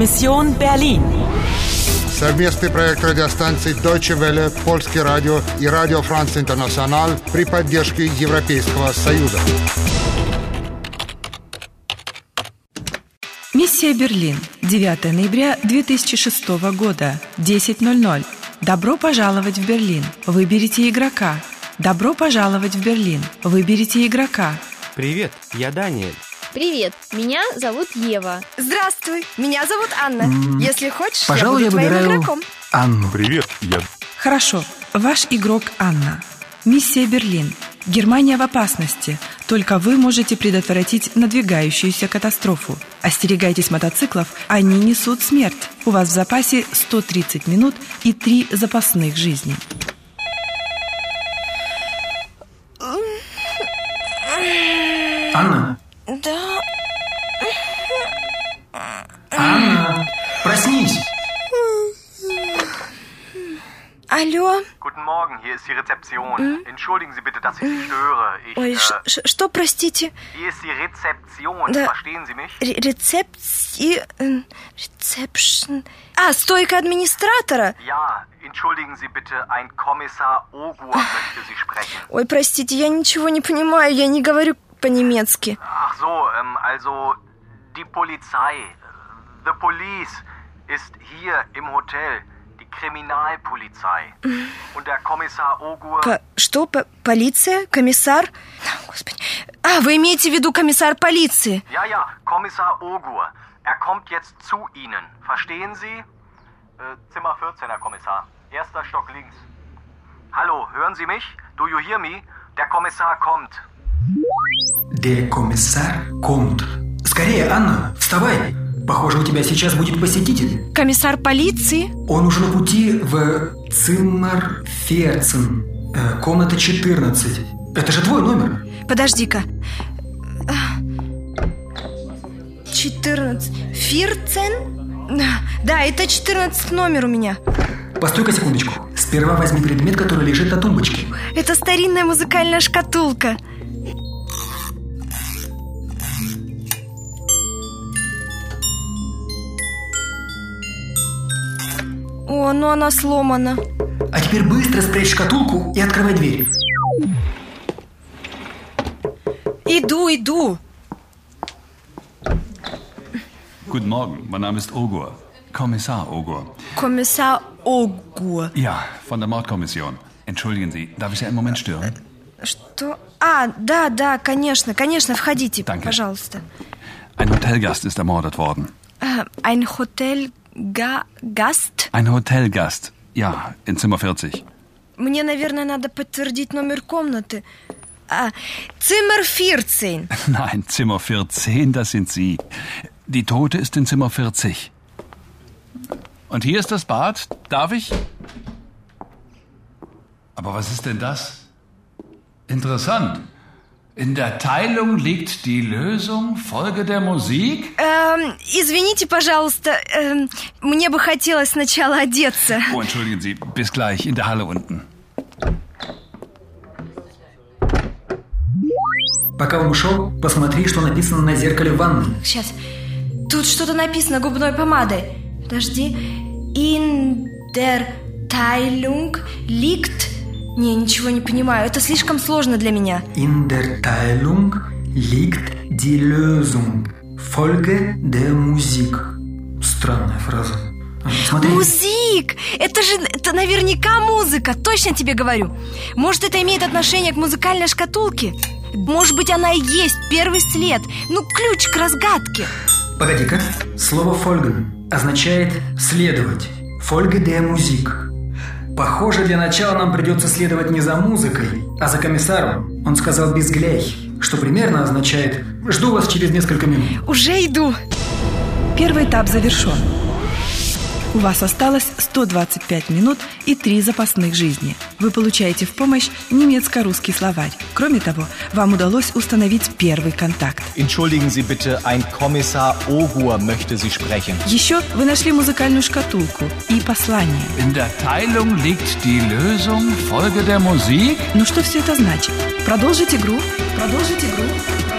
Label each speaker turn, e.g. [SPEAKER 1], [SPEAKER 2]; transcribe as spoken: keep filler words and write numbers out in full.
[SPEAKER 1] Mission Berlin.
[SPEAKER 2] Совместный проект радиостанций Deutsche Welle, Польский радио и Радио Франц Интернациональ при поддержке Европейского Союза.
[SPEAKER 3] Миссия Берлин. девятого ноября две тысячи шестого года. десять ноль ноль. Добро пожаловать в Берлин. Выберите игрока. Добро пожаловать в Берлин. Выберите игрока.
[SPEAKER 4] Привет, я Даниэль.
[SPEAKER 5] Привет, меня зовут Ева.
[SPEAKER 6] Здравствуй, меня зовут Анна. Mm. Если хочешь,
[SPEAKER 7] Пожалуй,
[SPEAKER 6] я буду
[SPEAKER 7] я
[SPEAKER 6] твоим
[SPEAKER 7] выбираю
[SPEAKER 6] игроком.
[SPEAKER 7] Анну.
[SPEAKER 8] Привет, я...
[SPEAKER 3] Хорошо, ваш игрок Анна. Миссия Берлин. Германия в опасности. Только вы можете предотвратить надвигающуюся катастрофу. Остерегайтесь мотоциклов, они несут смерть. У вас в запасе сто тридцать минут и три запасных жизни.
[SPEAKER 7] Анна?
[SPEAKER 6] Да.
[SPEAKER 7] Анна, проснись.
[SPEAKER 6] Алло.
[SPEAKER 9] Guten Morgen, hier ist die Rezeption. Hm? Entschuldigen Sie bitte, dass ich Sie störe. Ich,
[SPEAKER 6] Ой,
[SPEAKER 9] äh,
[SPEAKER 6] что, простите?
[SPEAKER 9] Hier ist die Rezeption.
[SPEAKER 6] Да.
[SPEAKER 9] Verstehen Sie mich?
[SPEAKER 6] Рецепции... Рецепшн... А, стойка администратора?
[SPEAKER 9] Ja, entschuldigen Sie bitte, ein Kommissar Ogur möchte Sie sprechen.
[SPEAKER 6] Ой, простите, я ничего не понимаю, я не говорю по-немецки.
[SPEAKER 9] Ach so, ähm, also die Polizei, the police, ist hier im Hotel. Kriminalpolizei. Und der Kommissar Ogur...
[SPEAKER 6] По... Что? По... Полиция? Комиссар? Господи. А, вы имеете в виду комиссар полиции?
[SPEAKER 9] Ja, ja, Kommissar Ogur. Er kommt jetzt zu Ihnen. Verstehen Sie? Äh, Zimmer vierzehn, Herr Kommissar. Erster Stock links. Hallo, hören Sie mich? Do you hear me? Der Kommissar kommt.
[SPEAKER 7] Der Kommissar kommt. Скорее, Анна, вставай. Похоже, у тебя сейчас будет посетитель.
[SPEAKER 6] Комиссар полиции?
[SPEAKER 7] Он уже на пути в Zimmer vierzehn, э, комната четырнадцать. Это же твой номер.
[SPEAKER 6] Подожди-ка. четырнадцать. Vierzehn? Да, это четырнадцать номер у меня.
[SPEAKER 7] Постой-ка секундочку. Сперва возьми предмет, который лежит на тумбочке.
[SPEAKER 6] Это старинная музыкальная шкатулка. О, ну она сломана.
[SPEAKER 7] А теперь быстро спрячь шкатулку и открывай дверь.
[SPEAKER 6] Иду, иду.
[SPEAKER 8] Guten Morgen, mein Name ist Ogur. Kommissar Ogur.
[SPEAKER 6] Kommissar Ogur.
[SPEAKER 8] Ja, von der Mordkommission. Entschuldigen Sie, darf ich Sie einen Moment stören?
[SPEAKER 6] Что? А, да, да, конечно, конечно, входите,
[SPEAKER 8] Danke.
[SPEAKER 6] Пожалуйста.
[SPEAKER 8] Ein Hotelgast ist ermordet worden.
[SPEAKER 6] Äh, ein Hotelgast?
[SPEAKER 8] Ein Hotelgast, ja, in Zimmer vierzig.
[SPEAKER 6] Мне, наверное, надо подтвердить номер комнаты. А, Zimmer vierzehn.
[SPEAKER 8] Nein, Zimmer vierzehn, das sind Sie. Die Tote ist in Zimmer vierzig. Und hier ist das Bad. Darf ich? Aber was ist denn das? Interessant. In der Teilung liegt die Lösung. Folge der Musik?
[SPEAKER 6] Ähm, извините, пожалуйста, ähm, мне бы хотелось сначала одеться.
[SPEAKER 8] Oh, entschuldigen Sie. Bis gleich in der Halle unten.
[SPEAKER 7] Пока он ушел, посмотри, что написано на зеркале в ванной.
[SPEAKER 6] Сейчас. Тут что-то написано губной помадой. Подожди. In der Teilung liegt... Не, ничего не понимаю. Это слишком сложно для меня.
[SPEAKER 7] In der Teilung liegt die Lösung. Folge der Musik. Странная фраза. Смотри.
[SPEAKER 6] Музик! Это же, это наверняка музыка. Точно тебе говорю. Может, это имеет отношение к музыкальной шкатулке? Может быть, она и есть первый след. Ну, ключ к разгадке.
[SPEAKER 7] Погоди-ка. Слово folgen означает следовать. Folge der Musik. Похоже, для начала нам придется следовать не за музыкой, а за комиссаром. Он сказал «bis gleich», что примерно означает «жду вас через несколько минут».
[SPEAKER 6] Уже иду.
[SPEAKER 3] Первый этап завершен. У вас осталось сто двадцать пять минут и три запасных жизни. Вы получаете в помощь немецко-русский словарь. Кроме того, вам удалось установить первый контакт.
[SPEAKER 4] Entschuldigen Sie bitte, ein Kommissar Ogur möchte Sie sprechen.
[SPEAKER 3] Еще вы нашли музыкальную шкатулку и послание.
[SPEAKER 8] In der Teilung liegt die Lösung. Folge der Musik?
[SPEAKER 3] Ну что все это значит? Продолжить игру. Продолжить игру.